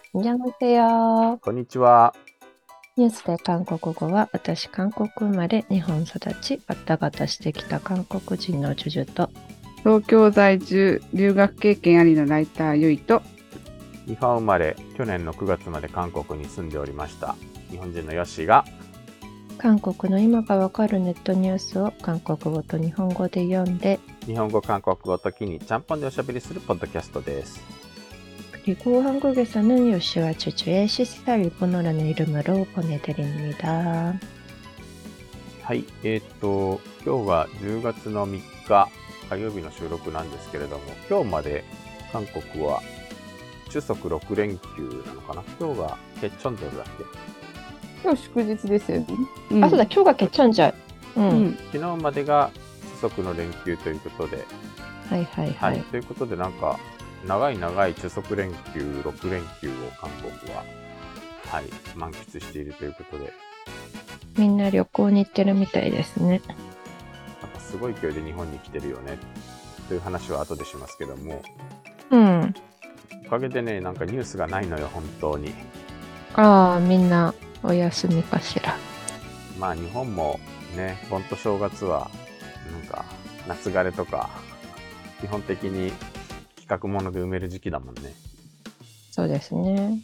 안녕하세요. こんにちは。 ニュースで韓国語は、私、韓国生まれ、日本育ち、バタバタしてきた韓国人のジュジュと、 東京在住、留学経験ありのライターゆいと、 日本生まれ、去年の9月まで韓国に住んでおりました。日本人のヨッシーが、 韓国の今がわかるネットニュースを韓国語と日本語で読んで、 日本語、韓国語ときにちゃんぽんでおしゃべりするポッドキャストです。 그리고 한국에서는 요시와 주주의 시스타 일본어라는 이름으로 보내드립니다. はい、今日は10月の3日火曜日の収録なんですけれども、今日まで韓国は中足6連休なのかな。今日がケチョンドルだっけ。 今日祝日ですよね。 あ、そうだ、今日が개천절。 昨日までが中足の連休ということで、 はいはいはい。 ということでなんか長い中足連休6連休を韓国は、満喫しているということで、 みんな旅行に行ってるみたいですね。 なんかすごい勢いで日本に来てるよねという話は後でしますけども、おかげでね、なんかニュースがないのよ、本当に。 ああ、みんなお休みかしら。 まあ日本もね、盆と正月はなんか夏枯れとか基本的に企画もので埋める時期だもんね。 そうですね。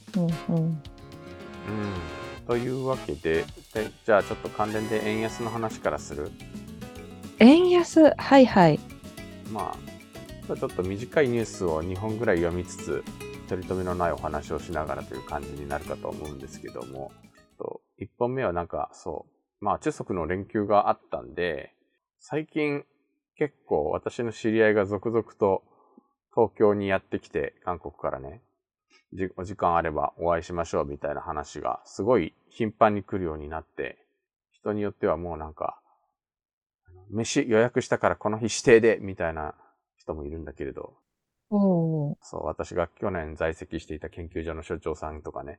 というわけで、じゃあちょっと関連で円安の話からする。 円安、はいはい。 まあちょっと短いニュースを2本ぐらい読みつつ、取り留めのないお話をしながらという感じになるかと思うんですけども、1本目はなんか中足の連休があったんで、最近結構私の知り合いが続々と東京にやってきて、韓国からね、お時間あればお会いしましょうみたいな話がすごい頻繁に来るようになって、人によってはもうなんか、飯予約したからこの日指定でみたいな人もいるんだけれど、私が去年在籍していた研究所の所長さんとかね、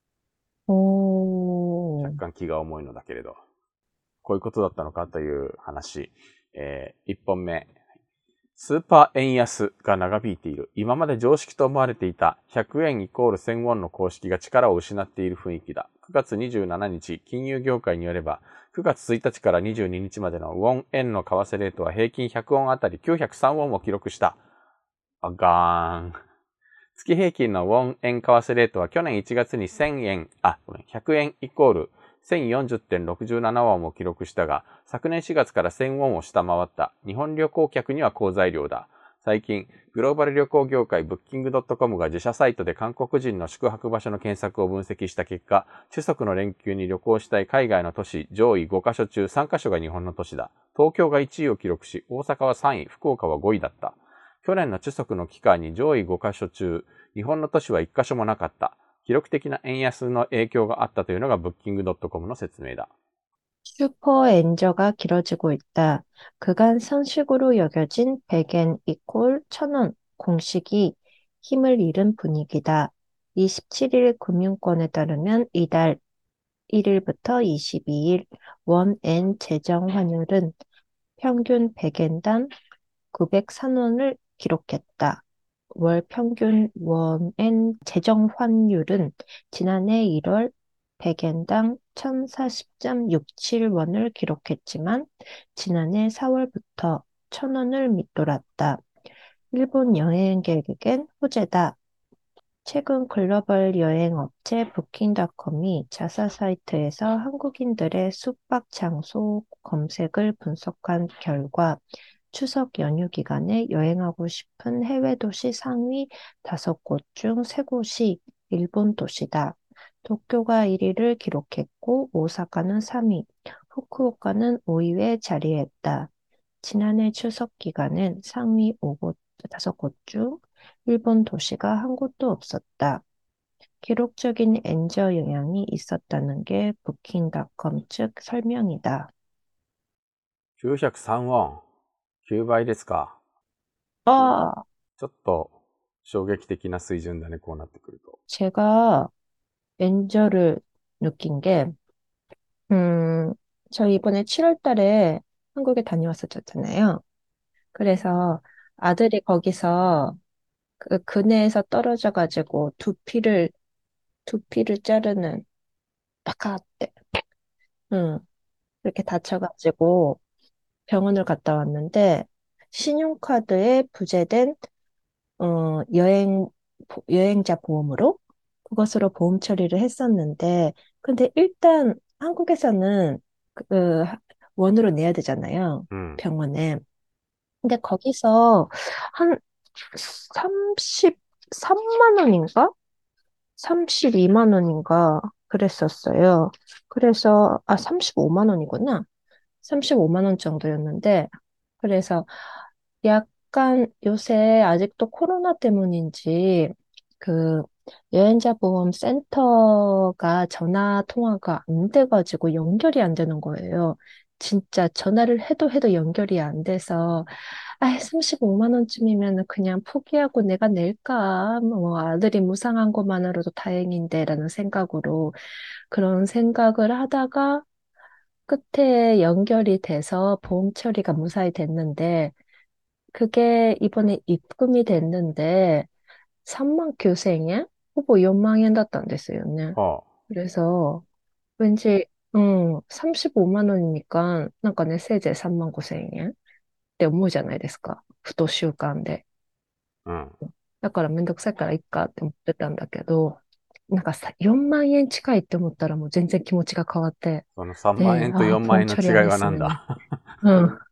若干気が重いのだけれど、こういうことだったのかという話。1本目。スーパー円安が長引いている。今まで常識と思われていた100円イコール1000ウォンの公式が力を失っている雰囲気だ。9月27日、金融業界によれば、9月1日から22日までのウォン円の為替レートは平均100ウォンあたり903ウォンを記録した。ガーン。月平均のウォン円為替レートは去年1月に100円イコール 1040.67 ウォンを記録したが、昨年4月から1000ウォンを下回った。日本旅行客には好材料だ。最近、グローバル旅行業界ブッキングドットコムが自社サイトで韓国人の宿泊場所の検索を分析した結果、中足の連休に旅行したい海外の都市上位5カ所中3カ所が日本の都市だ。東京が1位を記録し、大阪は3位、福岡は5位だった。去年の中足の期間に上位5カ所中、日本の都市は1カ所もなかった。記録的な円安の影響があったというのがブッキングドットコムの説明だ。 슈퍼 엔저가 길어지고 있다. 그간 선식으로 여겨진 100엔 이콜 1000원 공식이 힘을 잃은 분위기다. 27일 금융권에 따르면 이달 1일부터 22일 원엔 재정 환율은 평균 100엔당 903원을 기록했다. 월 평균 원엔 재정 환율은 지난해 1월 100엔당 1040.67원을 기록했지만 지난해 4월부터 1000원을 밑돌았다. 일본 여행객에겐 호재다. 최근 글로벌 여행 업체 부킹닷컴이 자사 사이트에서 한국인들의 숙박 장소 검색을 분석한 결과 추석 연휴 기간에 여행하고 싶은 해외 도시 상위 5곳 중 3곳이 일본 도시다. 도쿄가 1위를 기록했고 오사카는 3위, 후쿠오카는 5위에 자리했다. 지난해 추석 기간엔 상위 5곳 중 일본 도시가 한 곳도 없었다. 기록적인 엔저 영향이 있었다는 게 부킹닷컴 측 설명이다. 903ウォン。9倍ですか。 아, ちょっと衝撃的な水準だね、こうなってくると。 제가 엔저를 느낀 게, 음, 저 이번에 7월 달에 한국에 다녀왔었잖아요. 그래서 아들이 거기서 그 근해에서 떨어져가지고 두피를 두피를 자르는 파카 때. 응. 그렇게 다쳐가지고 병원을 갔다 왔는데 신용카드에 부재된 여행자 보험으로 그것으로 보험 처리를 했었는데 근데 일단 한국에서는 그 원으로 내야 되잖아요. 음, 병원에. 근데 거기서 한 33만 원인가? 32만 원인가 그랬었어요. 그래서 35만 원이구나. 35만 원 정도였는데 그래서 약간 요새 아직도 코로나 때문인지 그 여행자 보험 센터가 전화 통화가 안 돼가지고 연결이 안 되는 거예요. 진짜 전화를 해도 연결이 안 돼서 35만 원쯤이면 그냥 포기하고 내가 낼까? 뭐 아들이 무상한 것만으로도 다행인데라는 생각으로 그런 생각을 하다가 끝에 연결이 돼서 보험 처리가 무사히 됐는데 그게 이번에 입금이 됐는데 3만 교생에 후보 4만 엔だったんですよね. は 그래서 왠지 35만 원이니까 なんかねせいぜい3万5千円って思うじゃないですか。ふと習慣で。 あ、うん。 だからめんどくさいからいっかって思ってたんだけど、なんかさ、4万円近いって思ったらもう全然気持ちが変わって、 その3万で、 円と4万円のポンチョリア違いはなんネスメね。 だ？ うん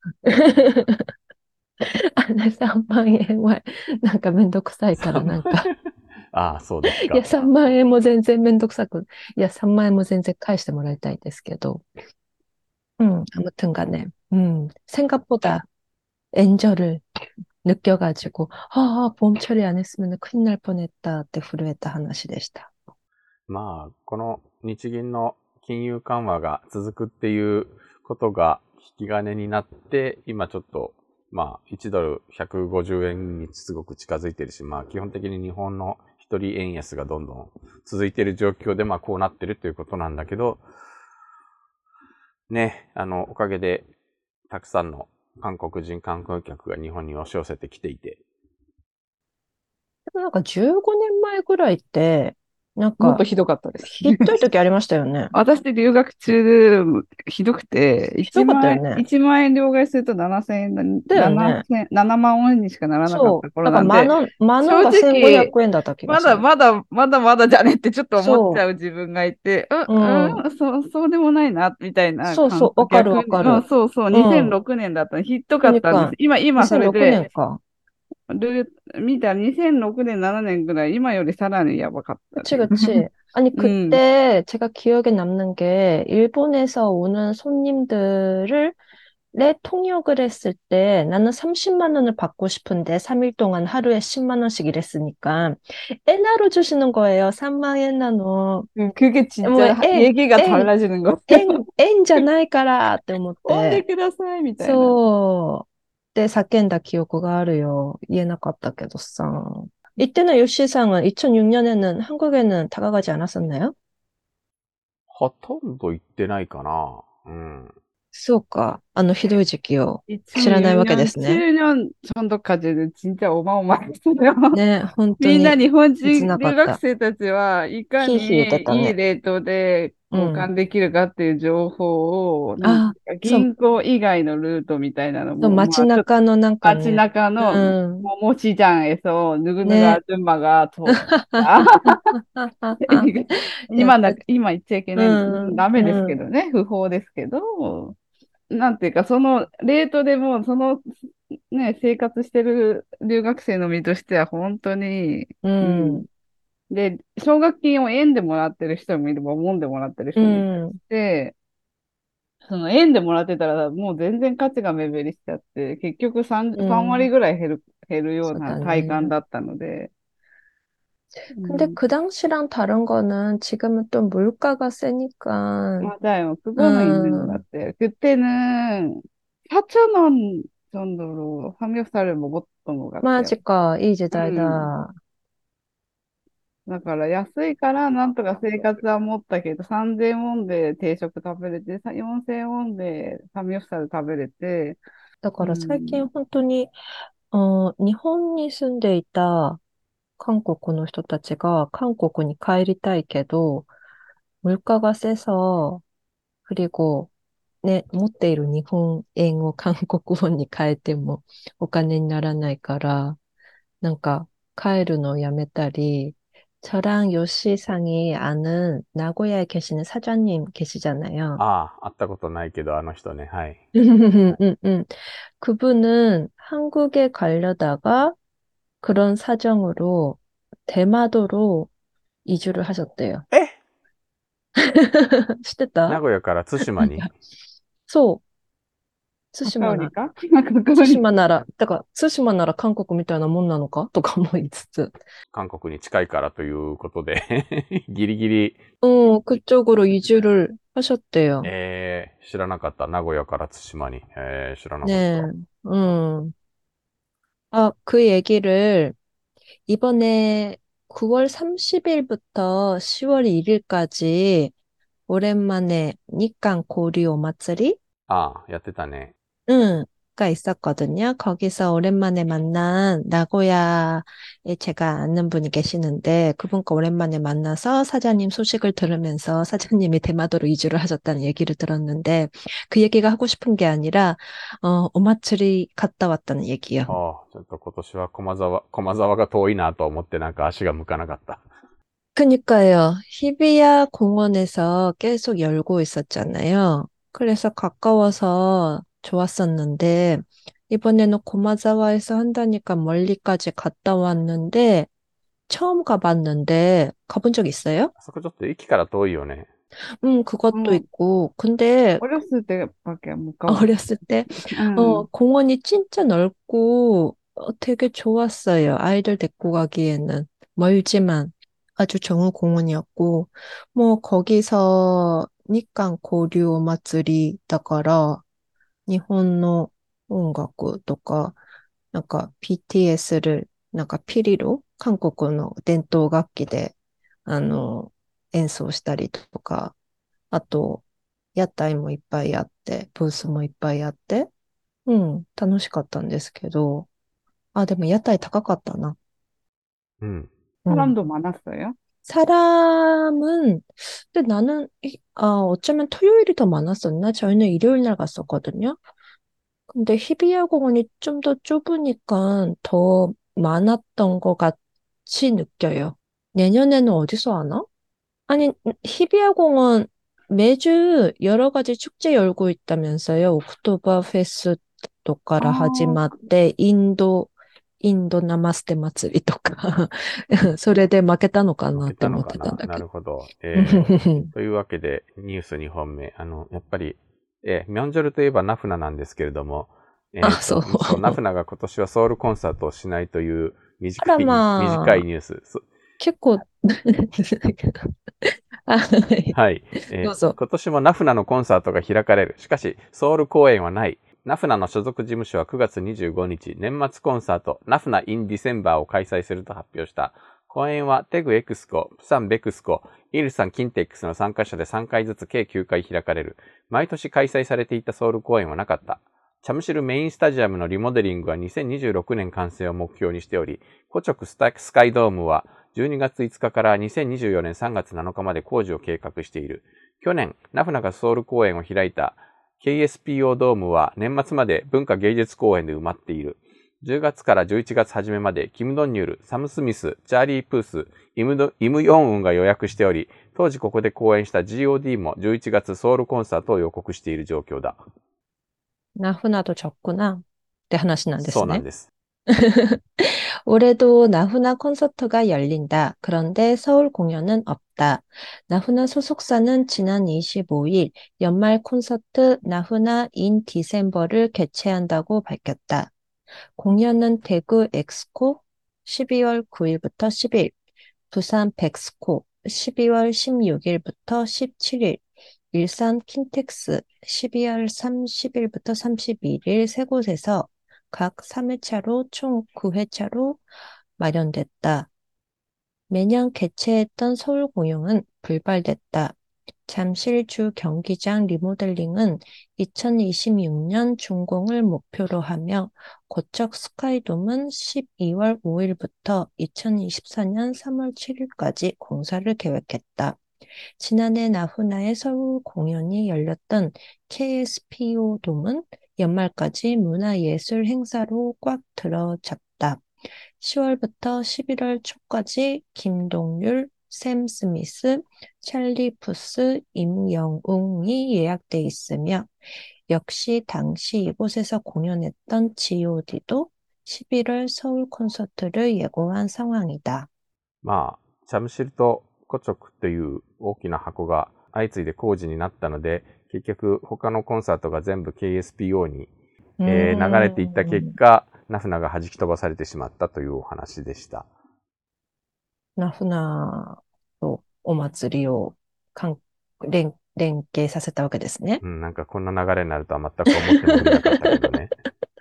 。3万円はなんかめんどくさいから 3万円。 いそうですや、 か。 3万円も全然めんどくさく、いや、3万円も全然返してもらいたいんですけど、아무튼 간에, 생각보다 엔저를 느껴가지고, 보험 처리 안 했으면 큰일 날 뻔했다って震えた話でした。 まあ、この日銀の金融緩和が続くっていうことが引き金になって、今ちょっと、まあ、1ドル150円にすごく近づいてるし、まあ、基本的に日本の一人円安がどんどん続いている状況で、まあ、こうなってるということなんだけど、ね、おかげで、たくさんの韓国人観光客が日本に押し寄せてきていて。 でもなんか15年前ぐらいって、なんか、 もっとひどかったです。 ひどい時ありましたよね。 私留学中、ひどくて、 ひどかったよね。 1万円両替すると7000円だよね。 7万ウォンにしかならなかったそう。だから頃なんで、 マノ正が1500 直、 円だった気がする。 まだじゃねってちょっと思っちそゃう自分がいて、 う。うん。 そうでもないな、みたいな感覚。 そうそう。わかるわ逆に、 かる。 そうそう、 うん。 2006年だったの、ひどかったんです。 クニカン。 今それ 2006 で、 年か。 見たら2006年、7年ぐらい、今よりさらにやばかった。 그치, 그치. 아니, うん。 그때 제가 기억에 남는 게, 일본에서 오는 손님들을 내 통역을 했을 때 나는 30만 원을 받고 싶은데 3일 동안 하루에 10만 원씩 일했으니까 엔화로 주시는 거예요. 3만 엔나노. 그게 뭐, 진짜 얘기가 달라지는 거예요. 円じゃないからって思っ飛んでて、 くださいみたいな。 そう。で、叫んだ記憶があるよ。言えなかったけどさ。이때는 요시상은 2006년에는 한국에는 다가가지 않았었나요? ほとんど行ってないかな。うん。 そうか。あのひどい時期を知らないわけで 2006년, すね。 7년 정도까지는 진짜 어마어마했어요. ね、本当みんなに日本切人留なかった。 学生たちはいかひいひい言ってにたね。 いいレートで交うん。 換できるかっていう情報を、なんてあ、 いうかそう、 銀行以外のルートみたいなのそうも、ま街あちょっと中のなんか街ね、 中のうん。 ももちじゃんえそ、ぬぐぬぐあね。 ずまが通ったやった。 今言っちゃいけうない、 ん、 ダメですうん、 けどね、不法ですけど、なんていうか、そのレートでも、そのね、生活してる留学生の身としては本当に、 ううん。 ん、 で、奨学金を円でもらってる人もいれば、ウォンでもらってるう人もいたりしん、 て、その円でもらってたら、もう全然価値が目減りしちゃって、結局う 3割ん。 ぐらい減るようそうなだね。 体感だったので、う 근데 ん、 그 당시랑 다른 거는 지금은 또 물가가 세니까, 맞아요. 그거는 있는 것 음, 같아요. 그때는 4천 원 정도로 삼겹살을 먹었던 것 같아요. 맞을까, 이 음. 時代だ。 だから安いからなんとか生活は持ったけど、3000ウォンで定食食べれて、4000ウォンでサムギョプサル食べれて、 だうから最近ん。 本当に、日本に住んでいた韓国の人たちが韓国に帰りたいけど、물가가 세서, 그리고, 네, 持っている 일본円を 한국ウォン に変えてもお金にならないから、なんか、帰るのをやめたり、저랑 요시상이 아는 나고야에 계시는 사장님 계시잖아요. ああ、会ったことないけど、あの人ね。はい。 그분은 한국에 가려다가 그런 사정으로 대마도로 이주를 하셨대요. え 시댔다? 名古屋から対馬に 소, 高売り 스시마나, か高売り。 스시마나라, だから、対馬なら 한국 みたいなもんなのかとか思いつつ、 韓国に近いからということでギリギリ、 그쪽으로 이주를 하셨대요. 知らなかった。名古屋から対馬に。知らなかっ 네, た。 아, 그 얘기를 이번에 9월 30일부터 10월 1일까지 오랜만에 니깐 고리 오마츠리? ああ、やってたね。 응, 가 있었거든요. 거기서 오랜만에 만난 나고야에 제가 아는 분이 계시는데 그분과 오랜만에 만나서 사장님 소식을 들으면서 사장님이 대마도로 이주를 하셨다는 얘기를 들었는데 그 얘기가 하고 싶은 게 아니라 오마츠리 갔다 왔다는 얘기요. ああ、ちょっと今年は駒沢が遠いなと思ってなんか足が向かなかった。 그니까요. 히비야 공원에서 계속 열고 있었잖아요. 그래서 가까워서 좋았었는데, 이번에는 고마자와에서 한다니까 멀리까지 갔다 왔는데, 처음 가봤는데, 가본 적 있어요? あそこちょっと駅から遠いよね。 그것도 うん。 있고. 근데 おろすてばっけ、向かう。 어렸을 때, うん。 공원이 진짜 넓고, 되게 좋았어요. 아이들 데리고 가기에는. 멀지만 아주 좋은 공원이었고, 뭐, 거기서 니깐 고류 마쓰리だから, 일본의 音楽とか, BTS를, ピリロ, 한국의 伝統楽器で, 演奏したりとか, あと、屋台もいっぱいあって、ブースもいっぱいあって、楽しかったんですけど、あ、でも屋台高かったな。 うん。 うん。 사람도 많았어요? 사람은, 근데 나는, 어쩌면 토요일이 더 많았었나? 저희는 일요일 날 갔었거든요. 근데 히비야 공원이 좀 더 좁으니까 더 많았던 것 같이 느껴요. 내년에는 어디서 하나? 아니, 히비야 공원 매주 여러 가지 축제 열고 있다면서요. 옥토버 페스트 かあら始まっあ、 て、インドナマステ祭りとかそれで負けたのか負けなって思ったのかな。 てたんだけなるほど。 ど。 というわけで、ニュース2本目。やっぱり、ミョンジョルといえばナフナなんですけれども、 あ、そう。 そう、ナフナが今年はソウルコンサートをしないというあら短いまあ、 ニュース。 結構あ、はい。 はい。 どうぞ。 今年もナフナのコンサートが開かれる。しかし、ソウル公演はない。ナフナの所属事務所は9月25日、年末コンサート、ナフナインディセンバーを開催すると発表した。公演はテグエクスコ、プサンベクスコ、イルサンキンテックスの参加者で3回ずつ計9回開かれる。毎年開催されていたソウル公演はなかった。チャムシルメインスタジアムのリモデリングは2026年完成を目標にしており、コチョクスカイドームは12月5日から2024年3月7日まで工事を計画している。去年、ナフナがソウル公演を開いた KSPO ドームは年末まで文化芸術公演で埋まっている。10月から11月初めまでキム・ドンニュル、サム・スミス、チャーリー・プース、イム・ヨンウンが予約しており、当時ここで公演した GOD も11月ソウルコンサートを予告している状況だ。 나훈아도 적구나. 네, 하나씩 안 そうなん 됐네. です。 올해도 나훈아 콘서트가 열린다. 그런데 서울 공연은 없다. 나훈아 소속사는 지난 25일 연말 콘서트 나훈아 인 디셈버를 개최한다고 밝혔다. 공연은 대구 엑스코 12월 9일부터 10일, 부산 백스코 12월 16일부터 17일, 일산 킨텍스 12월 30일부터 31일 세 곳에서 각 3회차로 총 9회차로 마련됐다. 매년 개최했던 서울 공연은 불발됐다. 잠실주 경기장 리모델링은 2026년 준공을 목표로 하며 고척 스카이돔은 12월 5일부터 2024년 3월 7일까지 공사를 계획했다. 지난해 나훈아의 서울 공연이 열렸던 KSPO 돔은 연말까지 문화예술 행사로 꽉 들어찼다. 10월부터 11월 초까지 김동률, 샘 스미스, 찰리 푸스, 임영웅이 예약돼 있으며 역시 당시 이곳에서 공연했던 G.O.D도 11월 서울 콘서트를 예고한 상황이다. まあ、チャムシルとコチョクという大きな箱が相次いで工事になったので、結局他のコンサートが全部 KSPO に、流れていった結果、ナフナが弾き飛ばされてしまったというお話でした。 ナフナとお祭りを連携させたわけですね。 なんかこんな流れになるとは全く思ってもみなかったけどね。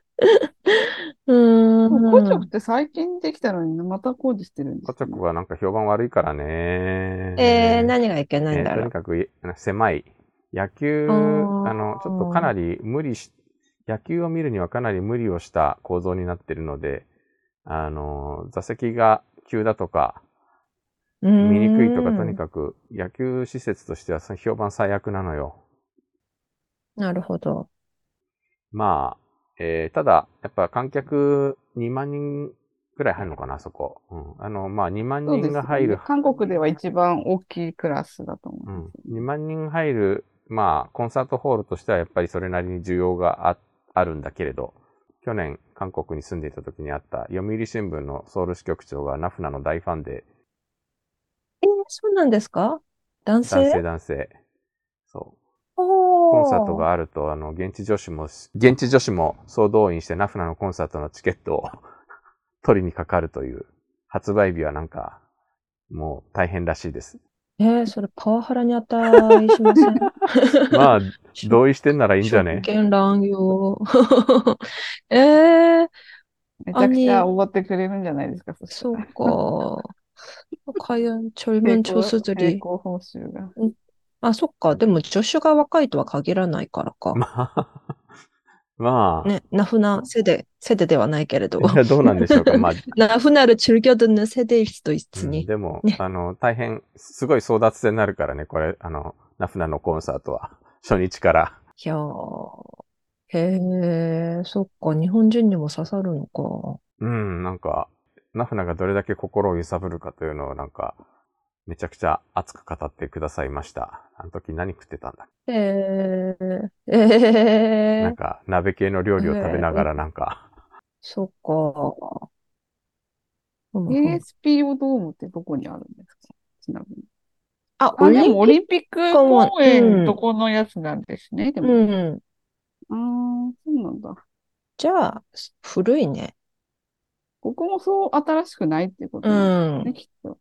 コチョクって最近できたのにまた工事してるんですコチョクはなんか評判悪いからね。 何がいけないんだろう。 とにかく狭い。野球、ちょっとかなり野球を見るにはかなり無理をした構造になっているので、座席が急だとか、見にくいとか、とにかく野球施設としては評判最悪なのよ。 なるほど。 まあ、ただ、やっぱ観客2万人くらい入るのかな、あそこ。まあ2万人が入る。 韓国では一番大きいクラスだと思う。2万人入る、まあ、コンサートホールとしてはやっぱりそれなりに需要があるんだけれど、去年韓国に住んでいた時にあった読売新聞のソウル支局長がナフナの大ファンで、 そうなんですか？男性？ 男性。そう。コンサートがあると、現地女子も総動員してナフナのコンサートのチケットを取りにかかるという、発売日はなんか、もう大変らしいです。 それパワハラに値しません？ まあ、同意してんならいいんじゃね？ 職権乱用。 めちゃくちゃおごってくれるんじゃないですか、 そうか。과연 젊은 조수들이. 並行報酬が。 あ、そっか。でも助手が若いとは限らないからか。 まあ。 ね、나훈아 세대ではないけれど。 いや、どうなんでしょうか。まあ。 나훈아를 즐겨 듣는 세대일 수도 있으니. でも、大変、すごい争奪戦になるからね、これ、ナフナのコンサートは。初日から。 いやー。へえ、そっか。日本人にも刺さるのか。 なんか、ナフナがどれだけ心を揺さぶるかというのをなんか、めちゃくちゃ熱く語ってくださいました。あの時何食ってたんだ？なんか、鍋系の料理を食べながらなんか。 そっか。 KSPO ドームってどこにあるんですか？ちなみに。でもオリンピック公園どこのやつなんですね。でも。そうなんだ。 じゃあ、古いね。 ここもそう新しくないっていうことなんですね、きっと。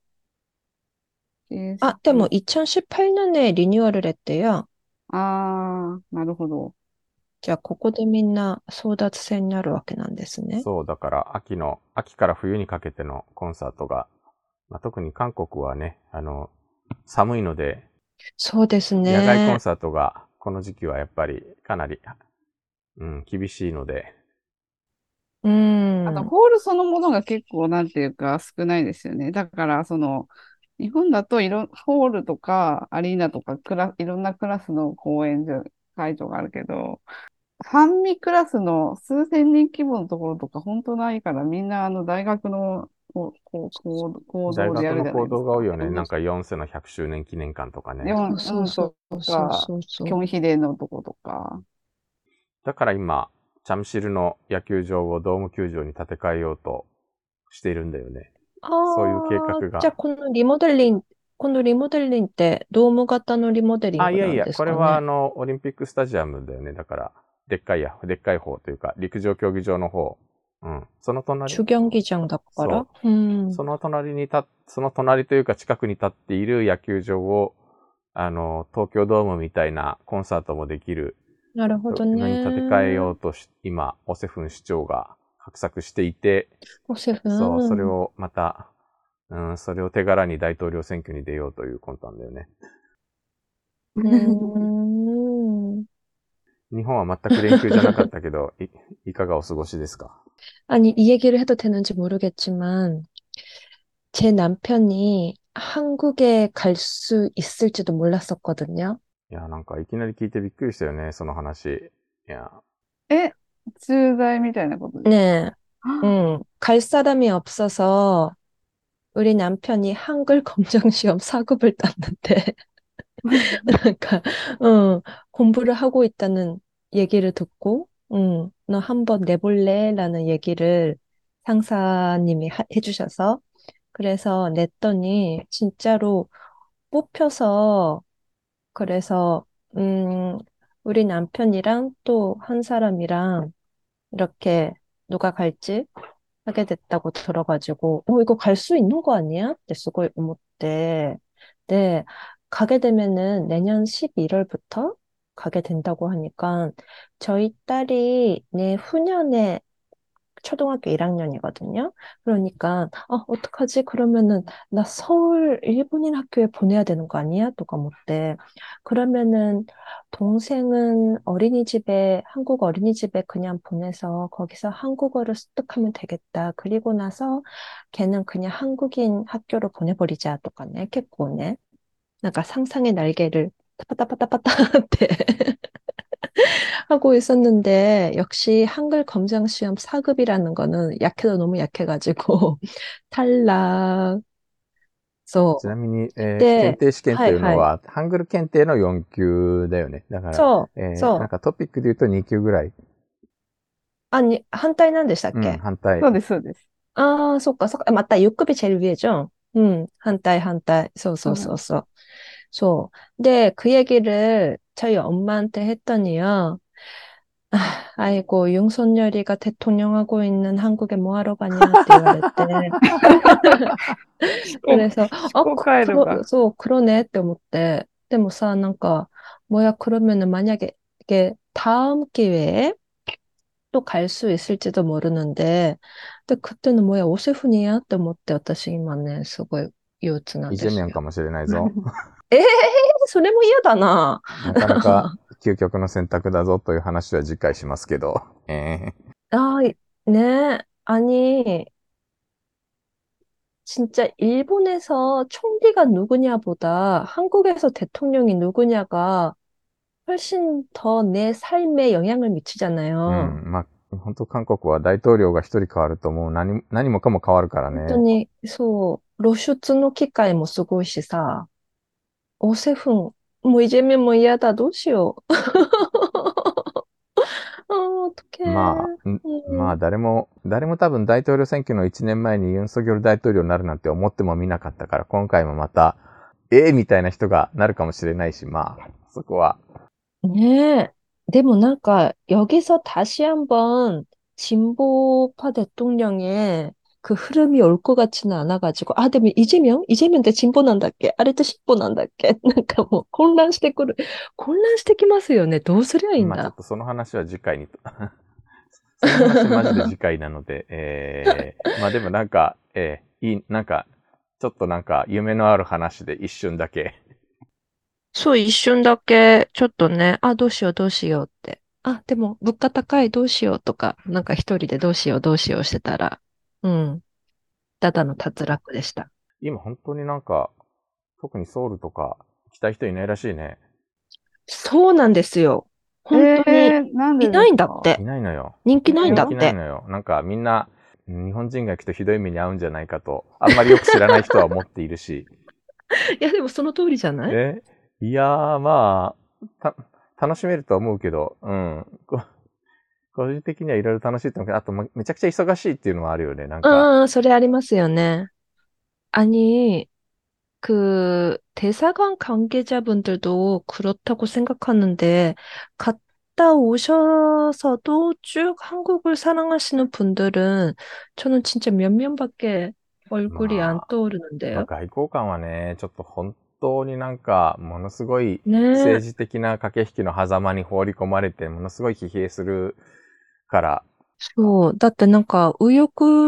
でも2018년에 리뉴얼을 했대요. なるほど。 じゃあ、ここでみんな争奪戦になるわけなんですね。 そう、だから秋から冬にかけてのコンサートが、特に韓国はね、寒いので、 そうですね。 野外コンサートがこの時期はやっぱりかなり、厳しいので。 あと、ホールそのものが結構なんていうか少ないですよね。だから、日本だとホールとかアリーナとかいろんなクラスの会場があるけど、半身クラスの数千人規模のところとか本当ないから、みんな大学の行動でやるじゃないですか。大学の行動が多いよね。なんか4世の100周年記念館とかね。 そうキョンヒデのとことか。 だから今、チャムシルの野球場をドーム球場に建て替えようとしているんだよね。そういう計画が。 じゃあこのリモデリングってドーム型のリモデリングなんですかね？ いや、これはオリンピックスタジアムだよね。だから、でっかい方というか、陸上競技場の方。その隣。 主競技場だから。 その隣というか近くに立っている野球場を、東京ドームみたいなコンサートもできる。 なるほどね。 に建て替えようと今、オセフン市長が画策していて、 オセフン？ そう、それをまた、それを手柄に大統領選挙に出ようという魂胆だよね。 うーん. 日本は全く連休じゃなかったけど、いかがお過ごしですか？ 아니, 이 얘기를 해도 되는지 모르겠지만, 제 남편이 한국에 갈 수 있을지도 몰랐었거든요. いや、なんかいきなり聞いてびっくりしたよね、その話。いや、 え、駐在みたいなことですか？ 네, 갈 사람이 없어서 우리 남편이 한글 검정시험 4급을 땄는데, 그러니까, 어, 공부를 하고 있다는 얘기를 듣고, 너 한번 내볼래? 라는 얘기를 상사님이 해주셔서, 그래서 냈더니 진짜로 뽑혀서, 그래서, 우리 남편이랑 또 한 사람이랑 이렇게 누가 갈지 하게 됐다고 들어가지고, 이거 갈 수 있는 거 아니야? 네, 쓰고思って, 네, 가게 되면은 내년 11월부터 가게 된다고 하니까, 저희 딸이 내후년에 초등학교 1학년이거든요. 그러니까, 어떡하지? 그러면은, 나 서울 일본인 학교에 보내야 되는 거 아니야? 또 까먹대. 그러면은, 동생은 어린이집에, 한국 어린이집에 그냥 보내서 거기서 한국어를 습득하면 되겠다. 그리고 나서 걔는 그냥 한국인 학교로 보내버리자. 똑같네. 이렇게 꼬네. 그러니까 상상의 날개를 타파타파타파타 때 하고 있었는데 역시 한글 검정 시험 4급이라는 거는 약해도 너무 약해가지고 탈락. ちなそう。 みに、検で、 定試験とはいはい。 いうのは、ハングル検定の4級だよね。だから、 そう、 なんそう。 かトピックで言うと2級ぐらい。 反対なんでしたっうん、 け？ 反対。 そうです、そうです。 아, 속까, 속까. 맞다. 6급이 제일 위에죠? 한달, 한달. そうなんです。 소. 근데 그 얘기를 저희 엄마한테 했더니요. 아이고, 윤석열이가 대통령하고 있는 한국에 뭐하러 가냐って言われて. 思 그래서, 考回路が。 そう, 그러네って思って. でもさ, 뭐야, 그러면은 만약에 이게 다음 기회에 또 갈 수 있을지도 모르는데, 근데 그때는 뭐야, 오세훈이야?って思って、私今ね、すごい憂鬱なんイジェミョンかですよ。 もしれないぞ。 ええー、それも嫌だな。 なかなか究極の選択だぞという話は次回しますけど。 아, 네. 아니, 진짜 일본에서 총리가 누구냐보다 한국에서 대통령이 누구냐가 훨씬 더 내 삶에 영향을 う 미치잖아요. ん、まあ、本当韓国は大統領が一人変わるともう何もかも変わるからね。 本当に、そう、露出の機会もすごいしさ、오세훈, 뭐 이제면 뭐嫌だ, どうしよう. 어떡해. まあ誰も多分大統領選挙の1年前にユン・ソギョル大統領になるなんて思ってもみなかったから、今回もまた、みたいな人がなるかもしれないし、まあ、そこは。 네. でも 여기서 다시 한번 진보파 대통령의 그 흐름이 올 것 같지는 않아가지고, でも 이재명 대 진보 난다っけ? あれって 진보 난다っけ? もう混乱してきますよね。 まあちょっどうすりゃいいんだ。 とその話は次回にと。その話マジで次回なので、まあでもなんか、なんか、ちょっとなんか夢のある話で一瞬だけ。 そう、一瞬だけ、ちょっとね、どうしよう、どうしようって。でも、物価高い、どうしようとか、一人でどうしよう、どうしようしてたら、うん、ただの脱落でした。 今本当になんか、特にソウルとか来たい人いないらしいね。 そうなんですよ。本当に、 なんででいないんだっすか？ て。 いないのよ。 人気ないんだ人気ないって。 のよ。なんかみんな、日本人が行くとひどい目に遭うんじゃないかと、あんまりよく知らない人は思っているし。 いや、でもその通りじゃない？ いやー、まあ、楽しめると思うけど、うん。個人的にはいろいろ楽しいと思うけど、あとめちゃくちゃ忙しいっていうのはあるよね、なんか。 それありますよね。아니, 대사관 관계자분들도 그렇다고 생각하는데, 갔다 오셔서도 쭉 한국을 사랑하시는 분들은 저는 진짜 몇 명밖에 얼굴이 안 まあ 떠오르는데요. 外交官はね、ちょっと本当になんか、ものすごい 네, 政治的な駆け引きの狭間に放り込まれて、ものすごい疲弊するから、 そう。だって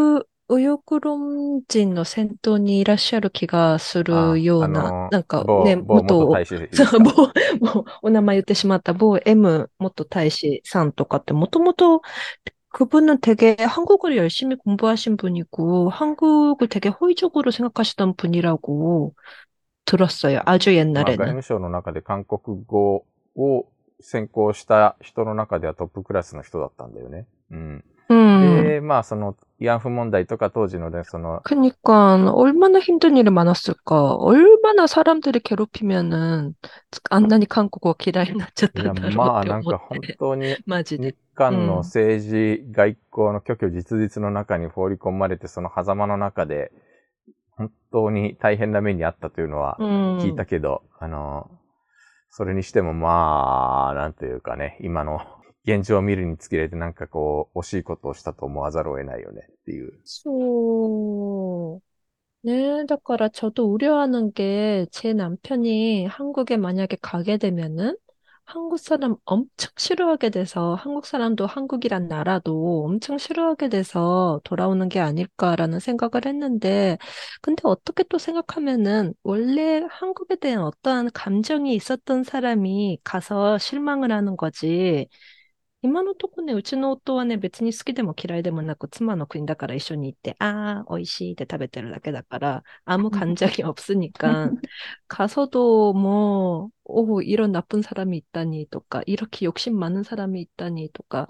ウヨグロン人の先頭にいらっしゃる気がするあ、 ような、なんかね、 某元大使そう、 ですか？ お名前言ってしまった某 M元大使さんとかってもともと그분은 되게 한국을 열심히 공부하신 분이고 한국을 되게 호의적으로 생각하시던 분이라고 들었어요. 아주 まあ、外 옛날에는. 務省の中で韓国語を専攻した人の中ではトップクラスの人だったんだよね。うん。 음. で、まあ、その、慰安婦問題とか当時のね、その、 그러니까 얼마나 힘든 일이 많았을까. 얼마나 사람들이 괴롭히면은 안나니 한국어 기라이 いや、 났ちゃったんだろうっまあ、 て思っなんか本て。 当にマジで。 日韓の 음. 政治、外交の虚虚実実の中に放り込まれて、その狭間の中で、本当に大変な目にあったというのは聞いた 음. けど、それにしてもまあ、なんというかね、今の現状を見るにつけてなんかこう、惜しいことをしたと思わざるを得ないよねっていう。 そう。 네, だから 저도 우려하는 게 제 남편이 한국에 만약에 가게 되면은 한국 사람 엄청 싫어하게 돼서 한국 사람도 한국이란 나라도 엄청 싫어하게 돼서 돌아오는 게 아닐까라는 생각을 했는데 근데 어떻게 또 생각하면은 원래 한국에 대한 어떠한 감정이 있었던 사람이 가서 실망을 하는 거지. 今のとこね、うちの夫はね、別に好きでも嫌いでもなく、妻の国だから一緒に行って、ああ、美味しいって食べてるだけだから、아무 감정이 없으니까, 가서도 뭐, 오, 이런 나쁜 사람이 있다니, とか, 이렇게 욕심 많은 사람이 있다니, とか,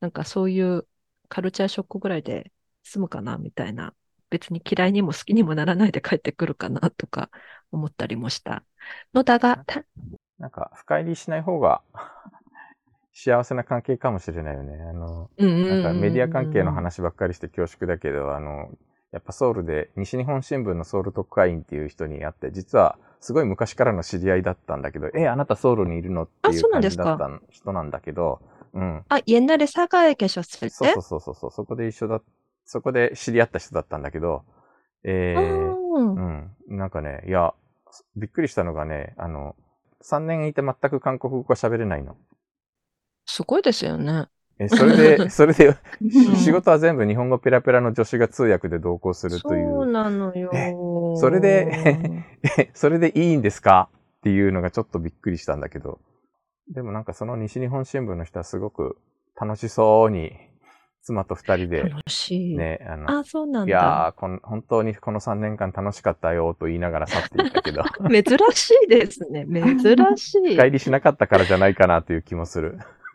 なんかそういうカルチャーショックぐらいで済むかな、みたいな。別に嫌いにも好きにもならないで帰ってくるかな、とか思ったりもした。のだが、 なんか、深入りしない方が幸せな関係かもしれないよね。なんかメディア関係の話ばっかりして恐縮だけど、やっぱソウルで西日本新聞のソウル特派員っていう人に会って、実はすごい昔からの知り合いだったんだけど、あなたソウルにいるのっていう感じだった人なんだけど、うん。 옛날에 사가에 계셨을 そう 때? そうそうそう、そこで知り合った人だったんだけど、うん。なんかね、いや、びっくりしたのがね、3年いて全く韓国語が喋れないの。 すごいですよね。 それで、仕事は全部日本語ペラペラの助手が通訳で同行するという。 そうなのよ。 それでそれでいいんですかっていうのがちょっとびっくりしたんだけど。でもなんかその西日本新聞の人はすごく楽しそうに、妻と二人で、 楽しい。 ね、 あ、そうなんだ。 いやー、本当にこの3年間楽しかったよと言いながら去っていったけど。 珍しいですね。珍しい。 深入りしなかったからじゃないかなという気もする。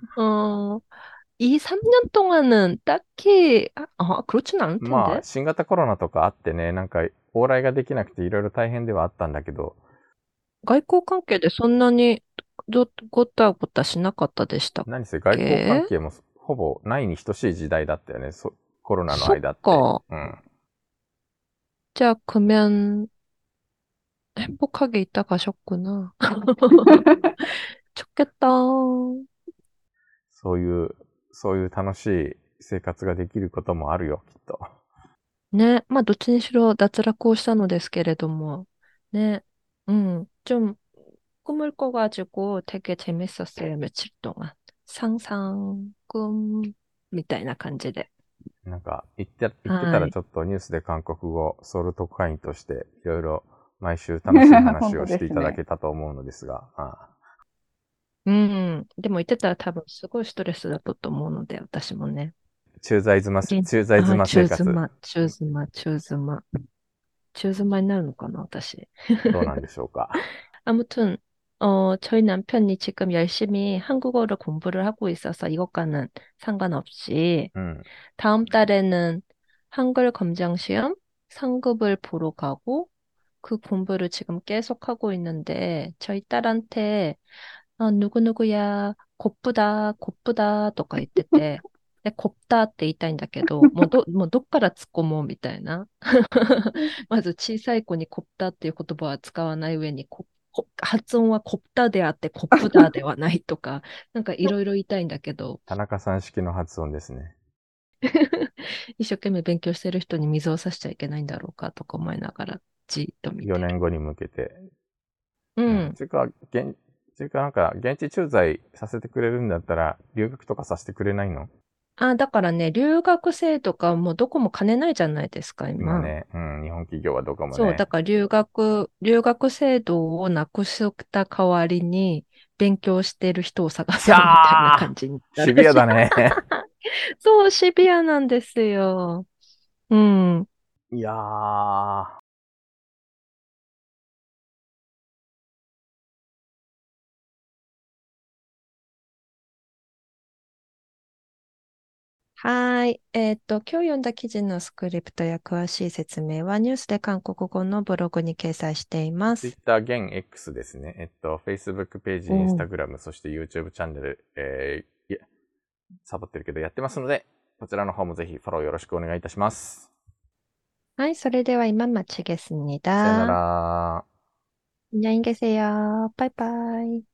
이 3년 동안은 딱히, 그렇진 않을 まあ、 텐데. 新型コロナとかあってね、なんか、往来ができなくていろいろ大変ではあったんだけど。 外交関係でそんなにごたごたしなかったでしたっけ？ 何せ外交関係もほぼないに等しい時代だったよね。コロナの間って。 そっか。 うん。 じゃあ、그러면 행복하게 있다 가셨구나. 좋겠다. そういう楽しい生活ができることもあるよ、きっと。 ね、まあ、どっちにしろ脱落をしたのですけれども、ね、좀 꿈을 꿔가지고 되게 재밌었어요, 며칠 동안. 상상, 꿈, みたいな感じで。 なんか、言ってたはい。 らちょっとニュースで韓国語、ソウル特派員としていろいろ毎週楽しい話をしていただけたと思うのですが。 でも言ってたら多分すごいストレスだったと思うので、私もね。 駐在妻生活。 中妻になるのかな、私。 どうなんでしょうか。 아무튼, 저희 남편이 지금 열심히 한국어를 공부를 하고 있어서 이것과는 상관없이 다음 달에는 한글 검정 시험 상급을 보러 가고 그 공부를 지금 계속 하고 있는데 저희 딸한테 누구누구야 곱부다 곱부다 とか言ってて 곱다 って言いたいんだけど、もうどっから突っ込もうみたいな。まず小さい子にコプタっていう言葉は使わない上に発音はコプタであってコップダーではないとか、なんかいろいろ言いたいんだけど、 田中さん式の発音ですね。 一生懸命勉強してる人に水を差しちゃいけないんだろうかとか思いながらじっと見て 4 る。 年後に向けて。 うん。 ていうか、なんか、現地駐在させてくれるんだったら、留学とかさせてくれないの？ あ、だからね、留学生とかもうどこも金ないじゃないですか、今。 今ね、うん、日本企業はどこもそう、だね。 から留学制度をなくした代わりに、勉強してる人を探ひゃそうみたいなー感じになるシビアだね。 そう、シビアなんですよ。うん。 いやー。 はい。今日読んだ記事のスクリプトや詳しい説明はニュースで韓国語のブログに掲載しています。 Twitter 現 X ですね。Facebook ページ、 おー Instagram、そして YouTube チャンネル、サボってるけどやってますので、こちらの方もぜひフォローよろしくお願いいたします。 はい、それでは今마치겠습니 さよな 다。 ら。 안녕히 계세요. 바이바이.